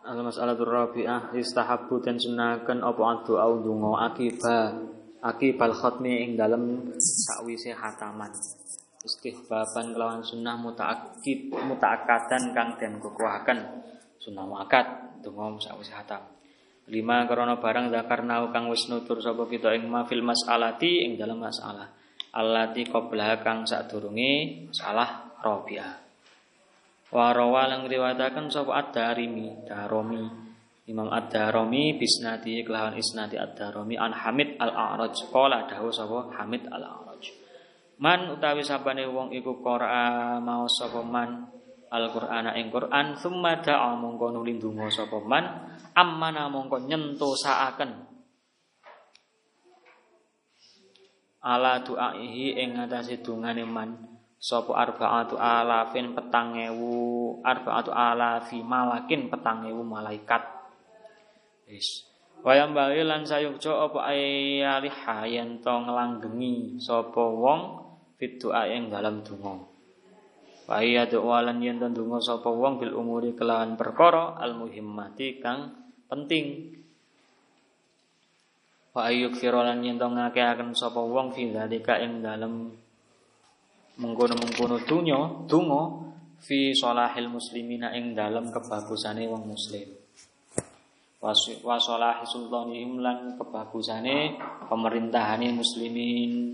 Al-mas'alatur rabi'ah istahabbu den sunaken apa doa ndonga akibal khatmi ing dalem sakwise khataman. Istihbaban kelawan sunnah muta'akkadan kang den kukuhaken. Sunnah muakkad ndonga sakwise khatam. 5 karena barang zakarna kang wis nutur sapa kita ing mafil mas'alati ing dalem masalah. Allati qabla kang sadurunge masalah rabi'ah. Wa rawalang riwayataken sapa Ad-Darimi, Imam Ad-Darimi bisnadi kelawan isnadi Ad-Darimi an Hamid Al-A'raj qala dawuh sapa Hamid Al-A'raj. Man utawi sabane wong iku qira'a maos sapa man Al-Qur'ana ing Qur'an summa da'a mongko nuli ndonga sapa man ammana mongko nyentosaaken ala du'aihi ing ngatasi dungane man sapa arba'atu alafi malakin 4.000 malaikat. Wis. Wayam bali lan sayukja apa ayaliha yen to nglanggengi sapa wong fit doa ing dalam donga. Wa ya doa lan yen to donga sapa wong bil umuri kelawan perkara al muhimmati kang penting. Wa ayyuk firolan yen to ngakeaken sapa wong fi zalika ing dalem mengkono donga fi sholahil muslimina ing dalem kebagusane wong muslim. Wa sholahi sultanihim lan kebagusane pemerintahane muslimin.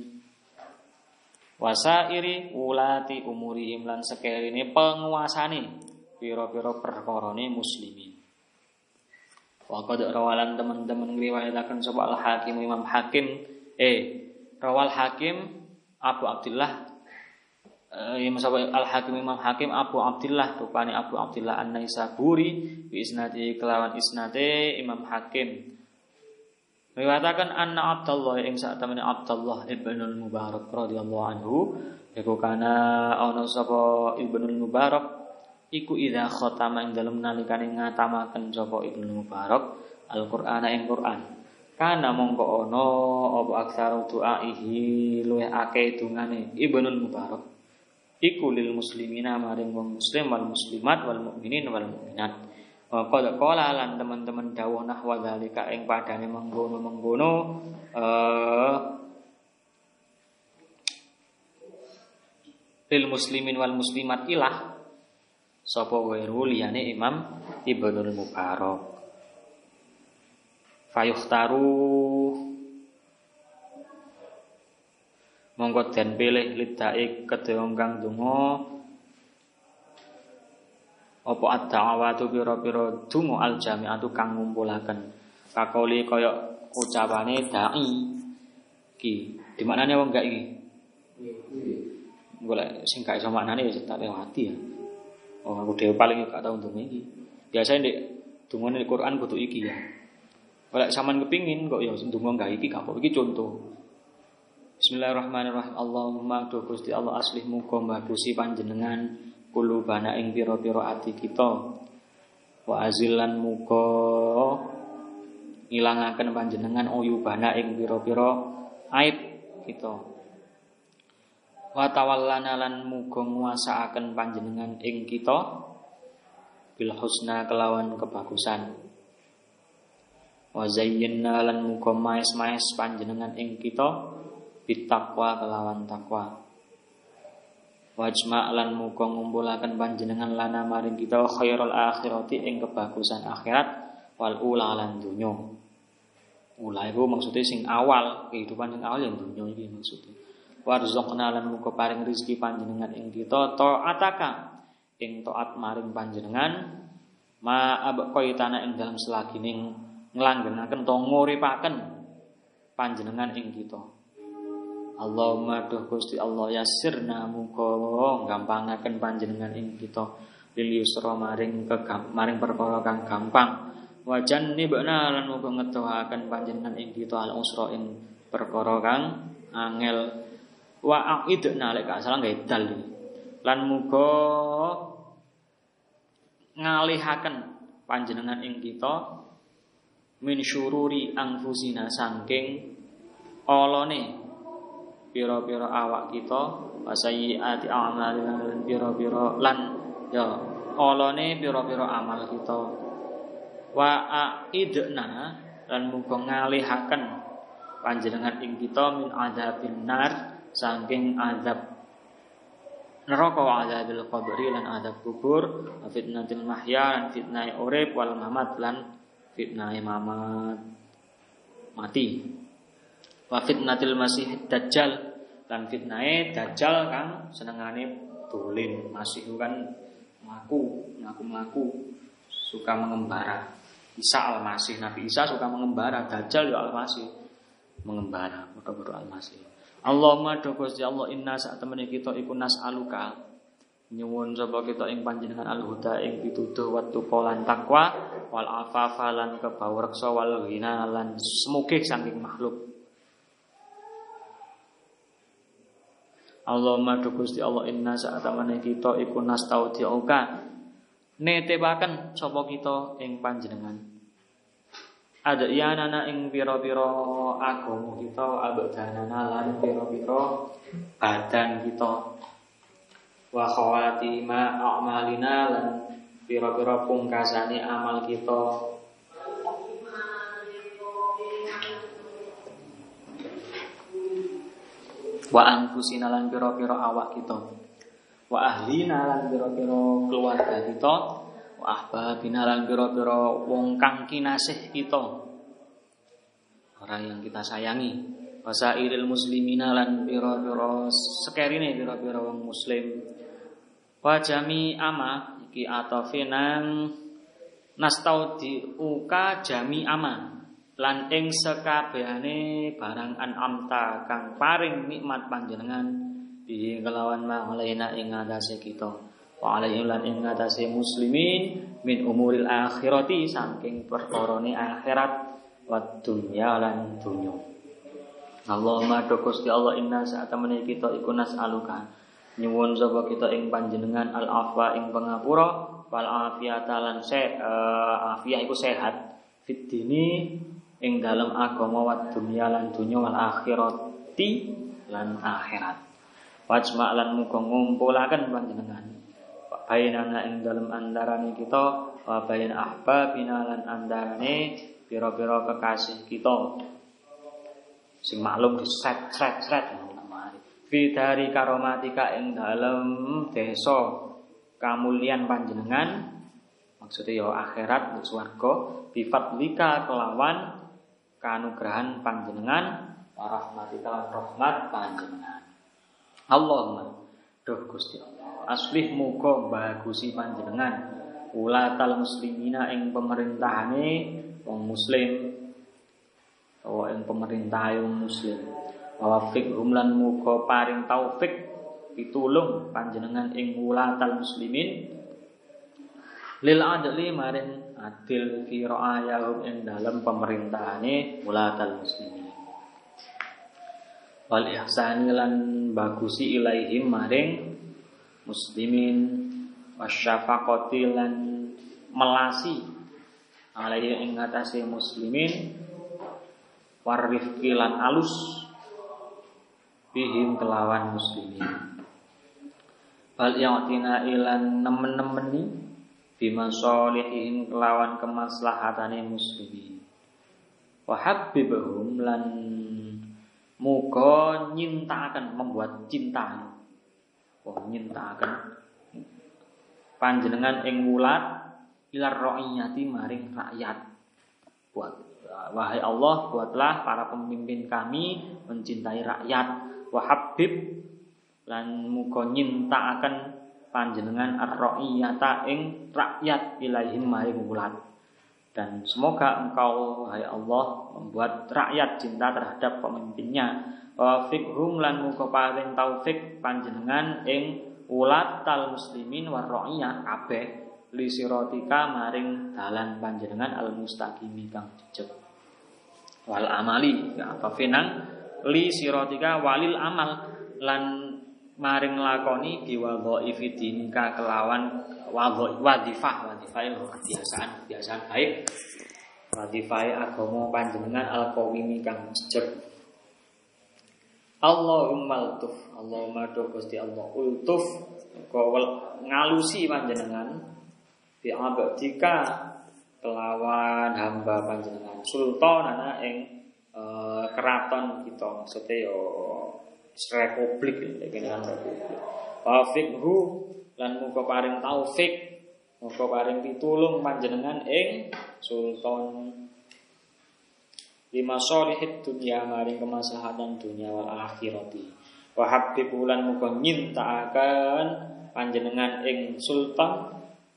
Wasairi ulati umurihim lan sekerine penguasane pira-pira perkarane muslimin. Wa qad rawalan teman-teman ngriwayataken sapa Al-Hakim Imam Hakim rawal Hakim Abu Abdullah Al-Hakim Imam Hakim Abu Abdullah rupane Abu Abdullah An-Naisaburi bi isnadi kelawan isnade Imam Hakim riwayataken anna Abdullah ing satemene Abdullah Ibnul Mubarak radhiyallahu anhu iku kana ana sapa Ibnul Mubarak iku idza khatama ing dalem nalikane ngatamaken sapa Ibnul Mubarak Al-Qur'ana ing Qur'an kana mongko ana apa aksaru du'aihi luwih akeh dungane Ibnul Mubarak iku lil muslimina maring wong muslim wal muslimat wal mukminin wal mukminat. Qala qala lan teman-teman dawuh nahwa zalika ing padane mengkono lil muslimin wal muslimat ilah sapa weru liyane Imam Ibnul Mubarak. Fayukhtaru mongko den pilih lidai kedhe kang donga apa ad-da'awatu pira-pira donga al-jami'atu kang ngumpulaken kakoli kaya ucapane dai iki dimaknane wong gak iki golek sing gak iso maknane wis tak lewati ya aku dhewe paling gak tau donga iki biasane ndek dongane di Quran kudu iki ya golek sampean kepingin kok ya donga gak iki gak apa iki contoh. Bismillahirrahmanirrahim. Allahumma do Gusti Allah aslih muga mbagusi panjenengan kulubana ing pira-pira ati kita. Wa azillan muga ngilangaken panjenengan uyubana ing pira-pira aib kita. Wa tawallana lan muga nguasaaken panjenengan ing kita bil husna kelawan kebagusan. Wa zayyinna lan muga maes-maes panjenengan ing kita bitakwa kelawan takwa. Wajma' lan muga ngumpulaken panjenengan lana maring kita khairul akhirati ing kebagusan akhirat wal ula lan dunya. Ula iku maksude sing awal, kehidupan sing awal yang dunya iki maksude. Warzuqna lan muga paring rezeki panjenengan ing kita taataka ing taat maring panjenengan ma abqaitana ing dalam selagine nglanggengaken to nguripaken panjenengan ing kita. Allahumma duh Gusti Allah yassirna muga gampangaken panjenengan ing kita lil yusra maring perkara kang gampang wajan nibna lan muga ngedohaken panjenengan ing kita al usra ing perkara kang angel wa aidna lek gak salah gawe dal lan muga ngalihaken panjenengan ing kita min syururi anfusina saking olone pira-pira awak kita wasayyiati a'malina pira-pira lan ya olone pira-pira amal kita Wa aidna lan muga ngalihaken panjenengan ing kita min adzabin nar saking azab neraka wa adzabil qabri lan azab kubur wa fitnatil mahya lan fitnah urip wal mamat lan fitnah mamat mati wa fitnatil masih dajjal lan fitnah dajjal kang senengane dolen masih kan mlaku suka mengembara Isa al-Masih Nabi Isa suka mengembara dajjal ya al-Masih mengembara padha-padha al-Masih Allahumma do Gusti Allah inna sak temene kita iku nas'aluka nyuwun sapa kita ing panjenengan al-huda ing pituduh wa tuqolan takwa wal afafa lan kebawreksa wal ghina lan semugih saking makhluk Allahumma do Gusti Allah inna sak temene kita iku nastaudiuka netepaken sapa kita ing panjenengan ada iyanana ing pira-pira agama kita abdanana lan pira-pira badan kita wa khawatima a'malina lan pira-pira pungkasane amal kita wa anfusina lan pira-pira awak kita wa ahlina lan pira-pira keluarga kita ahbabina lan pira-pira wong kang kinasih kita orang yang kita sayangi wasairil muslimina lan pira-pira sekerine pira-pira wong muslim wa jami ama iki atafe nang nastaudiuka jami ama lan ing sekabehane barang an'amta kang paring nikmat panjenengan bi kelawan ma'alaina ing ngatasé kita wa alaihi lan ing ngatasé muslimin min umuril akhirati saking perkarane akhirat wa dunya lan dunya Allahumma do Gusti Allah inna sa'atamene kita iku nas'aluka nyuwun sapa kita ing panjenengan al afwa ing pangapura wal afiyata lan afiyah iku sehat fid dini ing dalem agama wa dunya lan dunya wal akhirati lan akhirat wajma lan muga ngumpulaken panjenengan bainana ing dalem andarane kita wa bain ahbabina lan andarane pira-pira kekasih kita sing maklum disret fi dari karomatika ing dalem desa kamulyan panjenengan maksudnya ya akhirat swarga bi fadlika kelawan kanugrahan panjenengan wa rahmatika rahmat panjenengan Allahumma duh Gusti Allah aslih muga bagusi panjenengan ulatal muslimina ing pemerintahane wong muslim utawa ing pemerintah wong muslim wa fiqhum lan muga paring taufik pitulung panjenengan ing ulatal muslimin lil adli maring adil fi ra'ayahum ing dalem pemerintahane ulatal muslimin wal ihsani lan bagusi ilaihim maring muslimin wasyafaqati lan melasi alaihi ing atase muslimin warifqi lan alus bihim kelawan muslimin bal ya'tina ilan nemen-nemeni bima sholihin kelawan kemaslahatane muslimin wa habbibhum lan muga nyintaken membuat cinta nyintaken panjenengan ing wulat ilar ra'iyati maring rakyat wahai Allah buatlah para pemimpin kami mencintai rakyat wa habib lan muga nyintaken panjenengan ar-ra'iyata ing rakyat ilaihim maring wulat dan semoga engkau wahai Allah membuat rakyat cinta terhadap pemimpinnya wa fiqhum lan muga paring taufik panjenengan ing ulatal muslimin war ra'iyah kabeh li siratika maring dalan panjenengan al mustaqimi kang jejeg wal amali ya apa finang li siratika walil amal lan maring lakoni biwadhaifi dinika kelawan wadhifah kebiasaan baik wadhifah agama panjenengan al qawimi kang jejeg Allahumma ultuf Allahumma do Gusti Allah ultuf ngalusi panjenengan bi abdika kelawan hamba panjenengan. Sultan ana ing keraton kita, maksudnya yo republik kene kan republik. Wafiqhu lan muga paring taufik, muga paring pitulung panjenengan ing sultan lima solihid dunya maring kemaslahatan dunya wal akhirati. Wa habib lan muga nyintakaken panjenengan ing sultan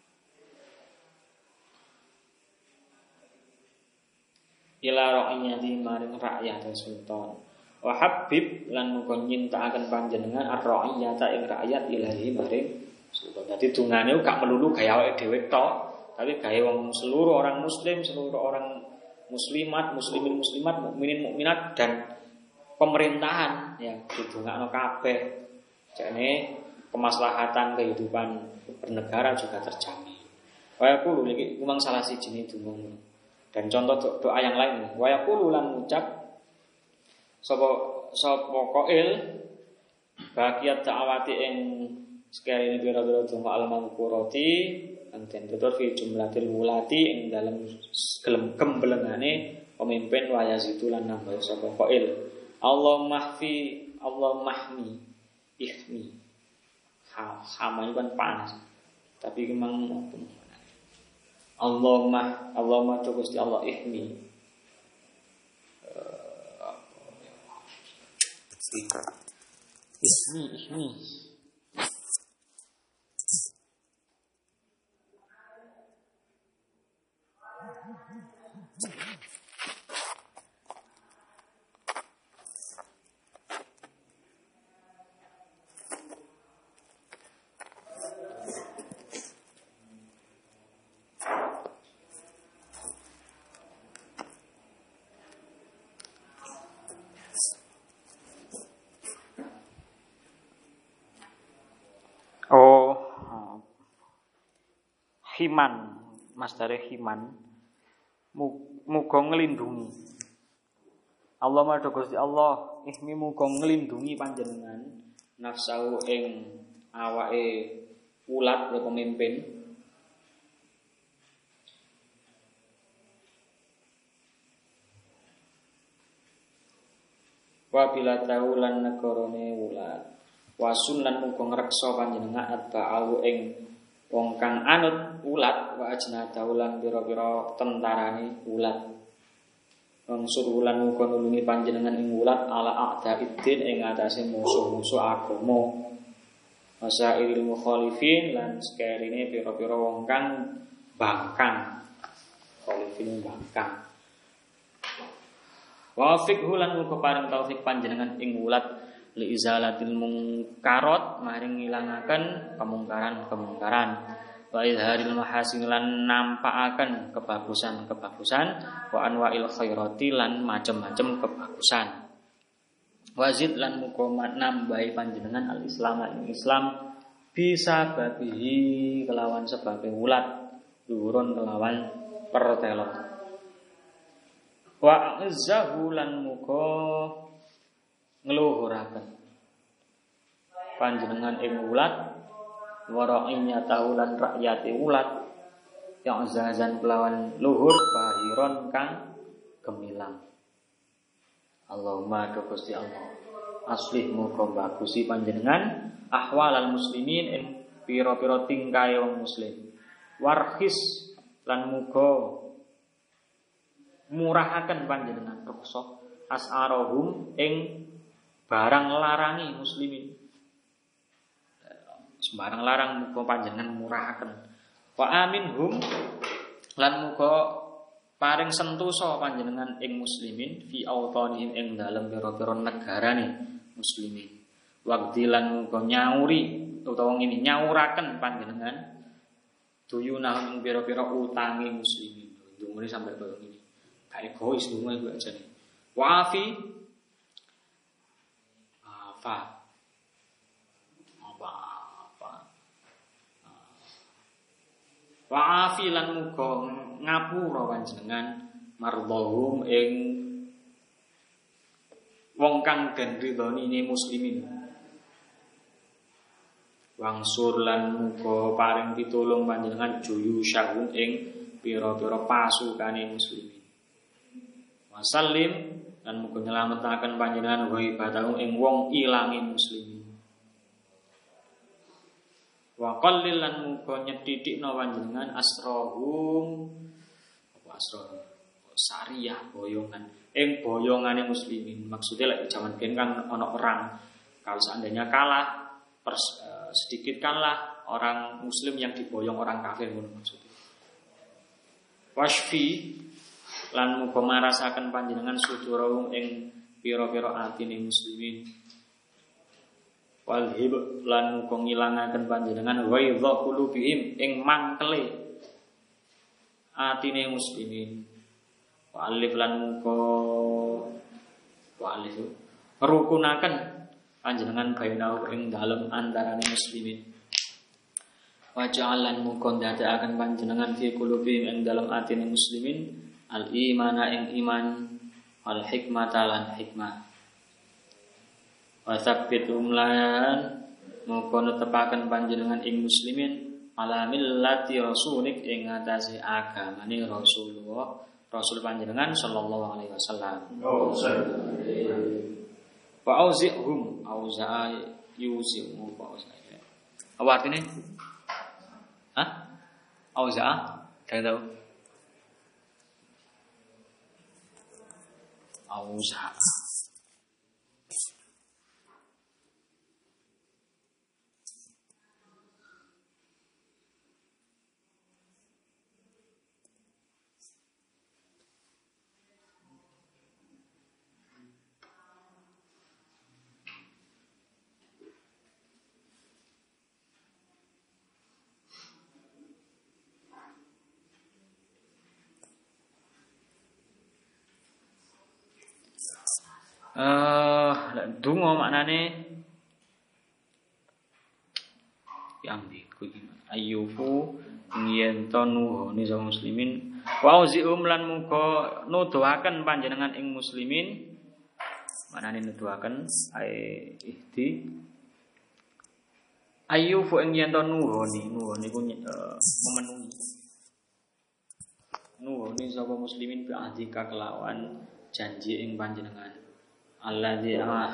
ila ra'iyati maring rakyat sultan. Wa habib lan muga nyintakaken panjenengan ar-ra'iyata ing rakyat ilahi maring sultan. Dadi dungane gak melulu gaya awake dhewe tok, tapi gaya wong seluruh orang muslim, seluruh orang muslimat, muslimin muslimat, mukminin mukminat dan pemerintahan ya didongakno kabeh. Jane kemaslahatan kehidupan bernegara juga terjamin. Waya kulo iki memang salah siji donga. Dan contoh doa yang lain, waya kulo lan ngucap sapa qail bagiat ta'awati ing sekali pira-pira donga al-mangkurati anten tutur fi jumlatil mulati ing dalam gembelengane pemimpin wayazitu lan nambah sapa qail Allah mahmi ihmi sama kan panas tapi memang Allahumma tu Gusti Allah ihmi ihmi himan, masdare himan, muga nglindungi. Allah madha Gusti Allah, ihmi muga nglindungi panjenengan nafsu ing awake ulat ya pemimpin. Wa bila taulan negarane ulat. Wa sunnan muga ngreksa panjenengan atba'u ing wong kang anut ulat wa ajna daulan pira-pira tentarane ulat. Mangsud ulan muga nulungi panjenengan ing ulat ala a'daiddin ing atase musuh-musuh agama. Masailil mukhalifin lan sekerine pira-pira wong kang bangkang. Khalifin bangkang. Wa fiqhu lan muga paring taufik panjenengan ing ulat li izalatil mungkarat maring ngilangaken kemungkaran-kemungkaran wa izharil mahasin lan nampakaken kebagusan-kebagusan wa anwa'il khairati lan macem-macem kebagusan wazid lan muga nambahi panjenengan al-islam ing Islam bisa babihi kelawan sebabe ulat durun kelawan pertelon wa azzahu lan muga ngluhuraken panjenengan ing ulat wara'inya taulan rakyate ulat yang zazan kelawan luhur bahiron kang gemilang. Allahumma Gusti Allah aslih muga bagusi panjenengan ahwalal muslimin ing pira-pira tingkahe wong muslim warhis lan muga murahaken panjenengan ruksa as'arahum ing barang larangi muslimin. Sembarang larang muga panjenengan murahaken. Wa aminhum lan muga paring sentosa panjenengan ing muslimin fi autanihim ing dalem pira-pira negarane muslimin. Waqti lan muga nyauri utawa ngene nyauraken panjenengan duyunah ing pira-pira utange muslimin. Ndungone sampai kaya ngene. Gak egois ndungo iku ajane. Wa'afi Wa'afi lan muga ngapura panjenengan mardhahum ing wong kang den ridhoni muslimin. Wangsur lan muga paring pitulung panjenengan juyu syahun ing pira-pira pasukane muslimin. Wasallim lan muga nyelametaken panjenengan wa ibadahu ing wong ilange muslimin. Wa qallil lan muga nyethithikna panjenengan asrahum apa asrahum sariyah boyongan boyongane muslimin. Maksudnya lek zaman biyen kan ana perang. Kalau seandainya kalah sedikitkanlah orang muslim yang diboyong orang kafir ngono maksudnya. Wasfi lan muga marasaken panjenengan sudurahum ing pira-pira atine muslimin. Walhib lan muga ngilangaken panjenengan waidha qulubihim ing mangkele atine muslimin. Walif lan muga walif rukunaken panjenengan bainahu ing dalem antarane muslimin. Wa ja'alan muga ndadekaken panjenengan fi qulubihim ing dalem atine muslimin al imana ing iman wal hikmata lan hikmah. Wa tsabbitum lan muga netepaken panjenengan ing muslimin ala millati rasulik ing atase agamane Rasulullah Rasul panjenengan sallallahu alaihi wasallam. Wa auzi'hum auza'a yuzi'u wa auza'a. Apa artinya? Hah? Auza'a? Kalian tahu? Auza'a. Donga maknane yambi kuwi ayyufu yen to nuhone sama muslimin wa auzium lan muga nuduhaken panjenengan ing muslimin maknane nuduhaken ihdi ayyufu yen to nuhone ku memenuhi sapa muslimin bi ahdika kelawan janji ing panjenengan alladzi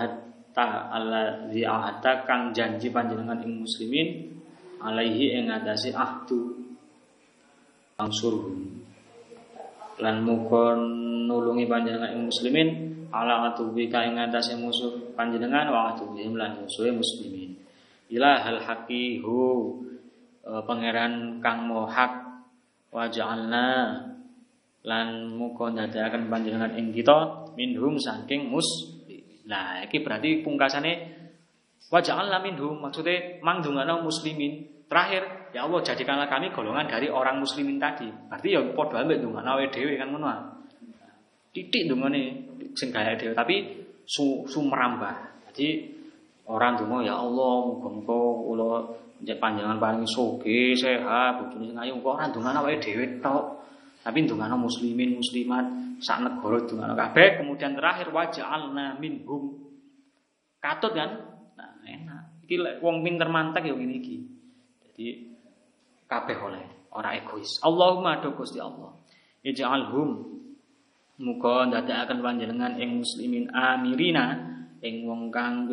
ahadta kang janji panjenengan ing muslimin alaihi ing atase ahdu angsurhum lan muga nulungi panjenengan ing muslimin ala atubika ing atase musuh panjenengan wa atubihim lan musuhe muslimin ilahal haqihu pangeran kang maha hak wa ja'alna lan muga ndadekaken panjenengan ing kita minhum saking Nah, iki berarti pungkasane wa ja'alna minhum maksudnya mangdungana muslimin. Terakhir, ya Allah jadikanlah kami golongan dari orang muslimin tadi. Berarti ya padha ambek ndongana wae dhewe kan ngono. Titik ndongane sing gawe dhewe tapi merambah. Jadi orang ndonga ya Allah muga-muga kula njenengan panjenengan paring sugih, sehat, bojone sing ayu, kok ora ndongana wae dhewe tok. Tapi ndongana muslimin muslimat sak negara ndongana kabeh, kemudian terakhir waja'alna minhum. Katut kan? Nah, enak. Iki lek wong pinter mantek ya ngene iki. Jadi kabeh oleh, ora egois. Allahumma do Gusti Allah. Ij'alhum muga ndadekaken panjenengan ing muslimin amirina ing wong kang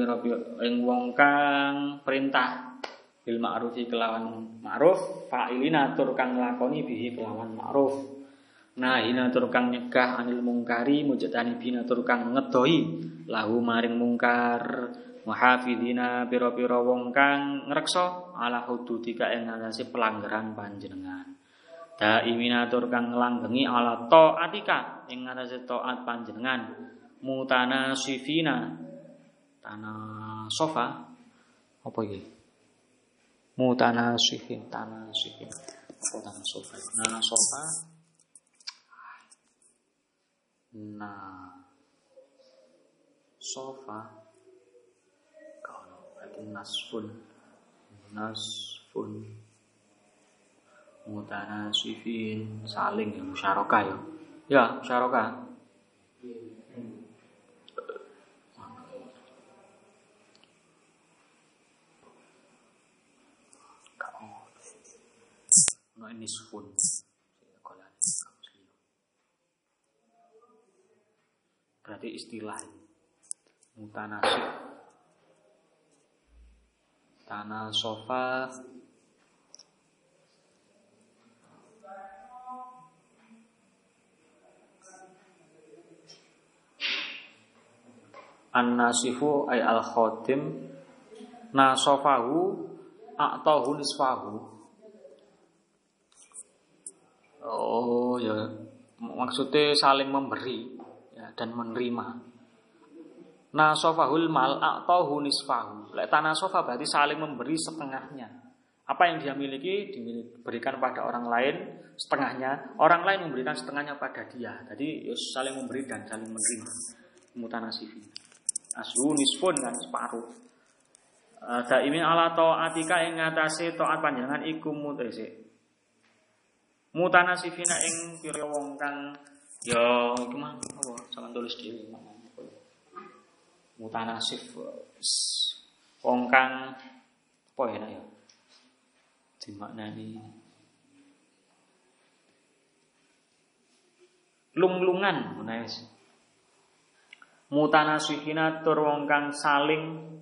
perintah bil ma'rufi kelawan ma'ruf, fa'ilina tur kang nglakoni bihi kelawan ma'ruf. Nah, hina tur kang nyegah anil mungkari mujadani bina tur kang ngedoi lahu maring mungkar muhafidina pira-pira wong kang ngreksa ala hududika ing atase pelanggaran panjenengan. Daimina tur kang nglanggengi ala taatika ing atase taat panjenengan. Mutanasifina tanah sofa apa iki? Mutanasifin tanah sofa. Tanah sofa. Nah, sofa kalau berarti nasfun mutanasifin saling ya musyarakah ya musyarakah no nisfun berarti istilah. Mutanasib, tanah sofa, an-nasifu ay al-khadim, nasofahu a'tahu nisfahu. Oh ya, maksudnya saling memberi ya, dan menerima. Nasofahul mal a'tahu nisfahu. Lek tanah sofa berarti saling memberi setengahnya. Apa yang dia miliki diberikan pada orang lain setengahnya, orang lain memberikan setengahnya pada dia. Jadi ya, saling memberi dan saling menerima. Mutanasifin. Aslu nisfun kan separuh. Daimin ala taatika ing ngatasi taat panjenengan iku mutese. Mutanasifina ing pira wong kang ya iku mah apa sampeyan tulis dhewe. Mutanasif wong kang apa ya dimaknani lung-lungan menawi. Mutanasifina tur wong kang saling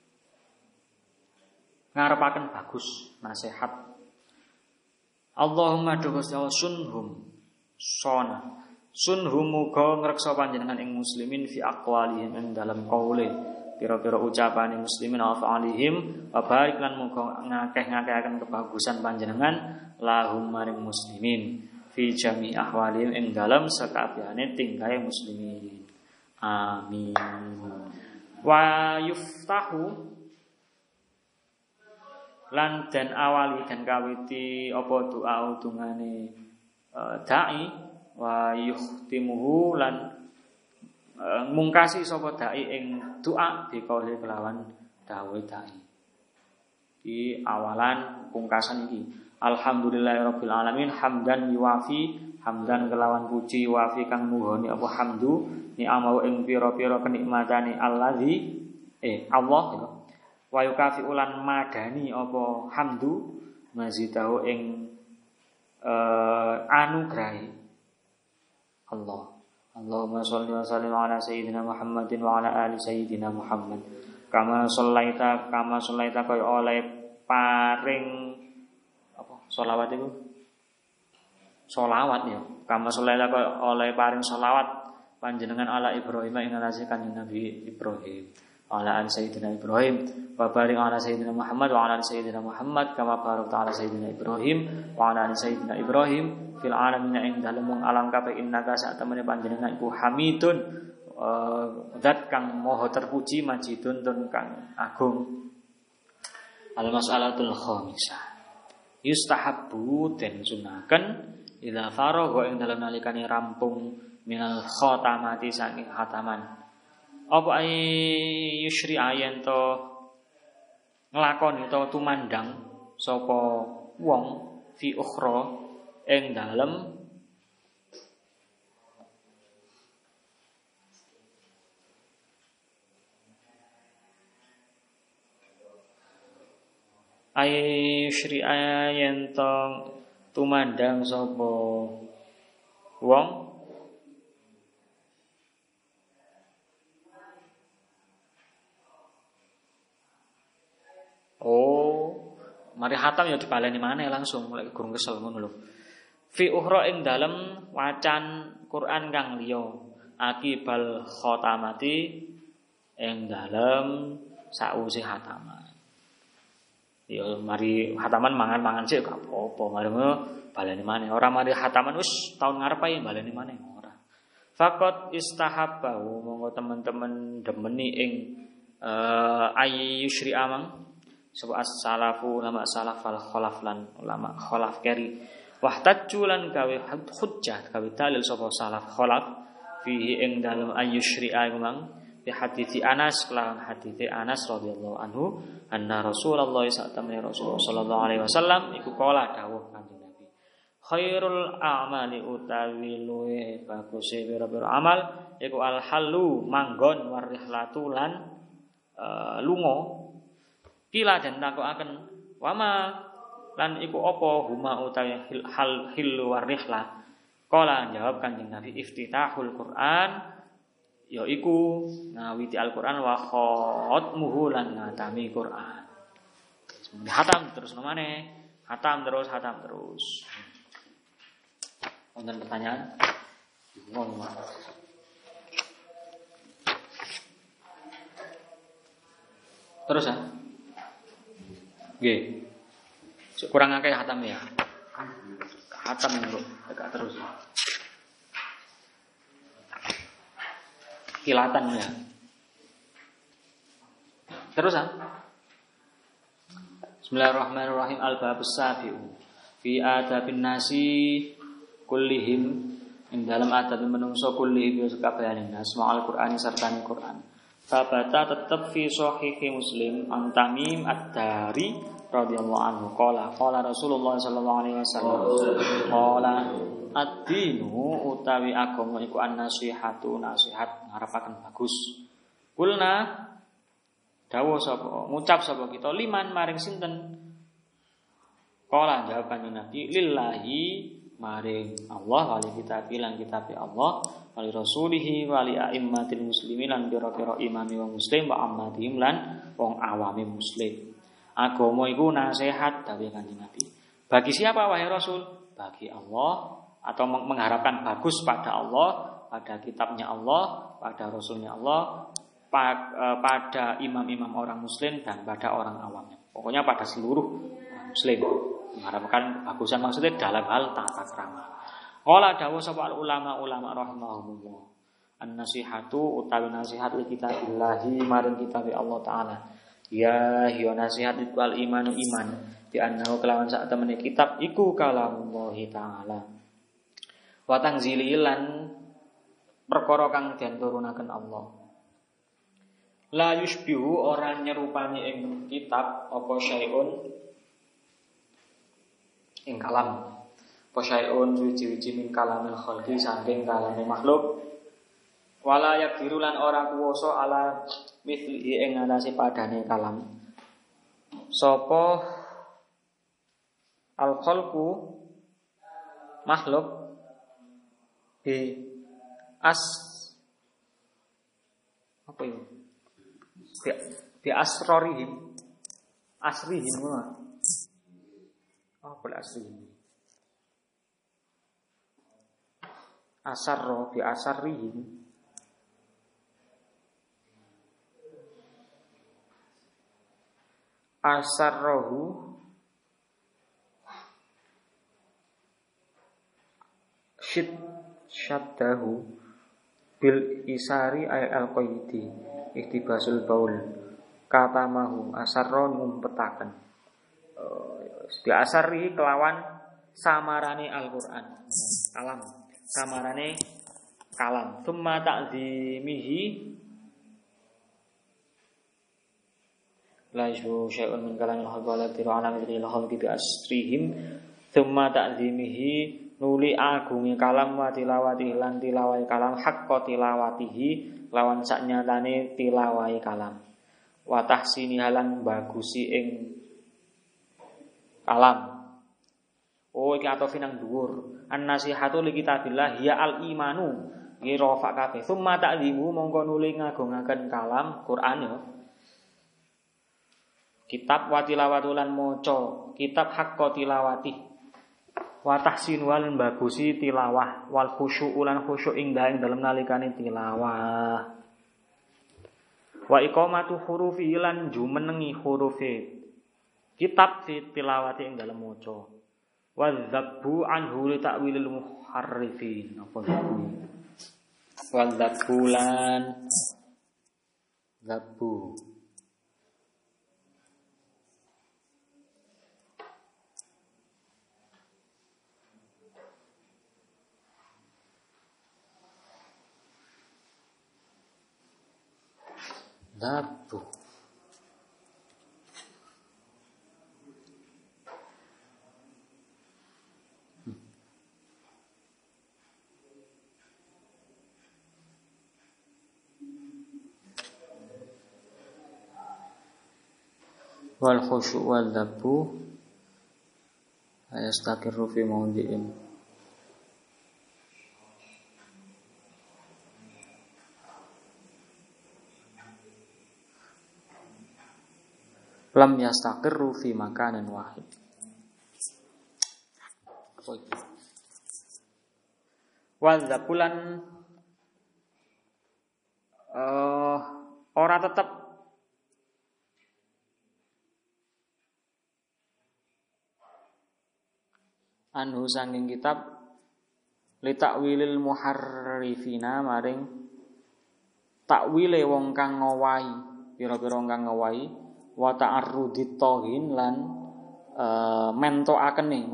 ngarepaken bagus nasihat. Allahumma dugus ya sunhum sona sunhum muga ngreksa panjenengan ing muslimin fi aqwalihim ing dalam qaule pira-pira ucapane muslimin wa fa'alihim wa barik lan muga ngakeh-ngakehaken kebagusan panjenengan lahum maring muslimin fi jami ahwalihim ing dalam sakabehane tingkahe muslimin. Amin. Wa yuftahu lan dan awali dan kawiti apa doa utungane dai wa yuhtimuhu lan mungkasi sapa dai ing doa dikauli kelawan dawuh dai. Di awalan pungkasan iki alhamdulillahirabbil alamin hamdan yuwafi hamdan kelawan puji wafi kang muhoni apa hamdu ni amau ing pira-pira kenikmatane allazi Allah ya. Wa yukafi ulan madani apa hamdu mazitahu ing anugrahi Allah. Allahumma sholli wa sallim ala sayyidina Muhammadin wa ala ali sayyidina Muhammad. Kama shallaita kaya oleh paring apa sholawat itu? Sholawat ya. Kama shallaita kaya oleh paring sholawat panjenengan ala Ibrahim ing atase kanjeng Nabi Ibrahim. Ala ali sayyidina Ibrahim wa barik ala sayyidina Muhammad wa ala ali sayyidina Muhammad kama barakta ala sayyidina Ibrahim wa ala ali sayyidina Ibrahim fil alamin ing dalem alam kabeh innaka sak temene panjenengan iku hamidun zat kang maha terpuji majidun tur kang agung. Al mas'alatul khamisah yustahabbu den sunaken idza faragha ing dalem nalikane rampung minal khatamati saking khataman apa ai yusri ayen to nglakoni to tumandang sapa wong fi ukhra ing dalem ai yusri ayen to tumandang sapa wong mari hatam ya dibaleni maneh langsung mulai gurung kesel ngono lho. Fi ukhra ing dalem wacan Quran kang liya akibal khatamati ing dalem sakwise hataman. Ya mari hataman mangan-mangan sik gak apa-apa, mari ngono baleni maneh. Ora mari hataman wis taun ngarep ae baleni maneh ora. Faqat istahabbahu monggo teman-teman demeni ing ayyusyri amang sebab as-salafu ulama salaf wal khalaf lan ulama khalaf keri wahtajju lan gawe hujjah gawe dalil sapa salaf khalaf fihi ing dalem ayyusyri'a memang bi hadithi Anas lan hadithi Anas radhiyallahu anhu anna Rasulullah sallallahu alaihi wasallam iku kala dawuh Kanjeng Nabi khairul a'mali utawi luweh baguse pira-pira amal iku al halu manggon warihlatu lan lunga. Kila dan takokaken wama lan iku apa huma utawi hilu warihlah. Kala jawab Kanjeng Nabi iftitahul Quran ya iku ngawiti Al-Qur'an wa khatmuhu lan ngatami Qur'an. Hatam terus nomane, hatam terus. Wonten pertanyaan? Ngomong. Terus ya. Nggih. Kurang akeh hatam ya. Hatam lho, agak terus. Kilatan ya. Terus ya. Bismillahirrahmanirrahim. Al-babus sabi'u fi adabin nasi kullihim ing dalam adab menungso kullihim kabehane nas ma'al Qur'an serta Qur'an. Babata tetep fi shahihi Muslim an Tamim ad-Dari radhiyallahu anhu qala Rasulullah sallallahu alaihi wasallam qala ad-dinu utawi agama iku an-nasihatu nasihat ngarepaken bagus. Kulna dawuh sapa ngucap sapa kita liman maring sinten? Qala jawaban Nabi lillahi maring Allah wali kitab lan kitab Allah wali rasulihi wali a'immatil muslimin lan pira-pira imami wong muslim wa ammatihim lan wong awami muslim. Agama iku nasihat dawuh Kanjeng Nabi. Bagi siapa wahai Rasul? Bagi Allah atau mengharapkan bagus pada Allah, pada kitabnya Allah, pada rasulnya Allah, pada imam-imam orang muslim dan pada orang awamnya. Pokoknya pada seluruh muslim. Mengharapkan kebagusan maksudnya dalam hal tata krama. Qala dawuh sapa ulama rahimahumullah. An-nasihatu utawi nasihat li kitabillahi maring kitab Allah taala. Ya hiya nasihat wal imanu iman bi annahu kelawan sak temene kitab iku kalamullah taala. Wa tanzili lan perkara kang den turunaken Allah. La yushbihu orang nyerupani ing kitab apa syai'un ing kalam apa syai'un suci-suci min kalamil khalqi saking kalame makhluk wala yakdiru lan ora kuwasa ala mithli ing atase padane kalam sapa al khalqu makhluk bi apa itu bi asrorihim apa asrihim asarro bi asarrihim asarrohu syaddahu bil isari ay al qaidi iktibasul baul katamahu asarro ngumpetaken bi asari kelawan samarane Al-Qur'an kalam samarane kalam summa ta'zimihi la yashu syai'un min kalamil khalqi wa ala mithli al-khalqi bi asrihim summa ta'zimihi nuli agunge kalam wa tilawati lan tilawai kalam haqqa tilawatihi lawan saknyatane tilawai kalam wa tahsini halan bagusi ing kalam. Oh iki atofi nang dhuwur. An-nasihatu li kitabillah ya al-imanu. Iki rafa kabeh. Summa ta'zimu mongko nuli ngagungaken kalam Quran ya. Kitab wa tilawatulan maca, kitab haqqa tilawati. Wa tahsin wal bagusi tilawah wal khusyuk lan khusyuk ing dalem nalikane tilawah. Wa iqamatu hurufi lan jumenengi hurufe. Kitab fi tilawati ing dalem maca. Wa dzabbu anhu li ta'wilil muharrifin. Apa itu? Wa dzabbulan dzabbu. Dzabbu. Wal khusyu' wal dzabbu ayastaqiru fi mawdi'in lam yastaqirru fi makanin wahid. Wadzabulan ora tetep anhu sanging kitab li takwilil muharrifina maring takwile wong kang ngowahi pira-pira kang ngowahi wa ta'arrudit tauhin lan mentokaken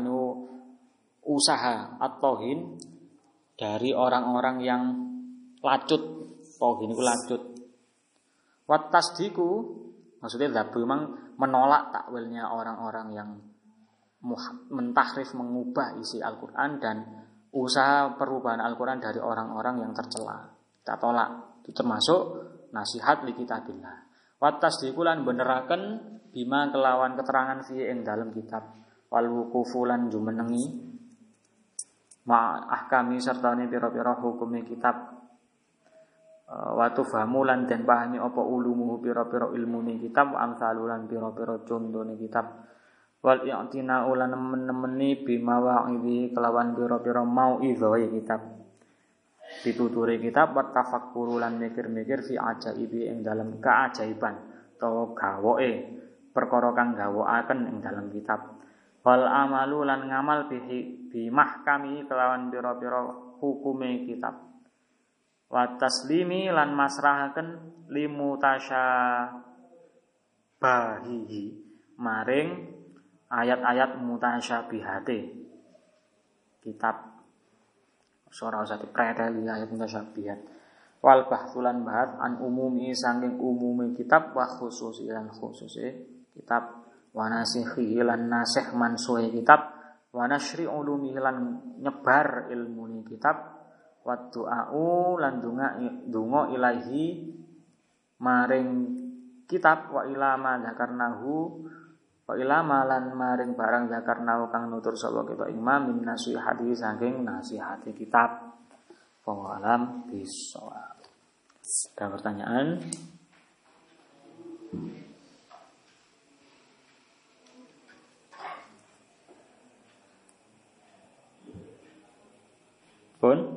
usaha at-tauhin dari orang-orang yang lacut. Tauhin iku lacut. Wat tasdiku maksudnya dzabu memang menolak takwilnya orang-orang yang mentahrif mengubah isi Al-Qur'an dan usaha perubahan Al-Qur'an dari orang-orang yang tercela. Kita tolak. Itu termasuk nasihat li kitabillah. Wat tasdiku lan beneraken bima kelawan keterangan fi ing dalam kitab wal wuqufu lan jumenengi ma ahkami sertane pira-pira hukume kitab wa tufahamu lan den pahami apa ulumuhu pira-pira ilmune kitab wa amsalulan pira-pira contone kitab wal i'tina ulan nemen-nemeni bima wa'idhi kelawan pira-pira mau'idhae kitab dituture kitab wa tafakkuru lan mikir-mikir fi ajaibi ing dalam keajaiban utawa gawoke perkara kang gawakaken ing dalam kitab wal amalu lan ngamal bi mahkami kelawan pira-pira hukume kitab wa taslimi lan masrahaken limutasyabahihi maring ayat-ayat mutasyabihate kitab ora usah dipreteli ayat mutasyabihat wal bahtulan bahat an umumi saking umume kitab wa khususi lan khususe kitab wa nasikhi lan nasih mansuhe kitab wa nasyri ulumi lan nyebar ilmune kitab wa du'a'u lan donga ilahi maring kitab wa ilama zakarnahu wa ilama lan maring barang zakarnahu kang nutur sapa kita imam min nasihati saking nasihati kitab wa alam bisawab. Ada pertanyaan? Pun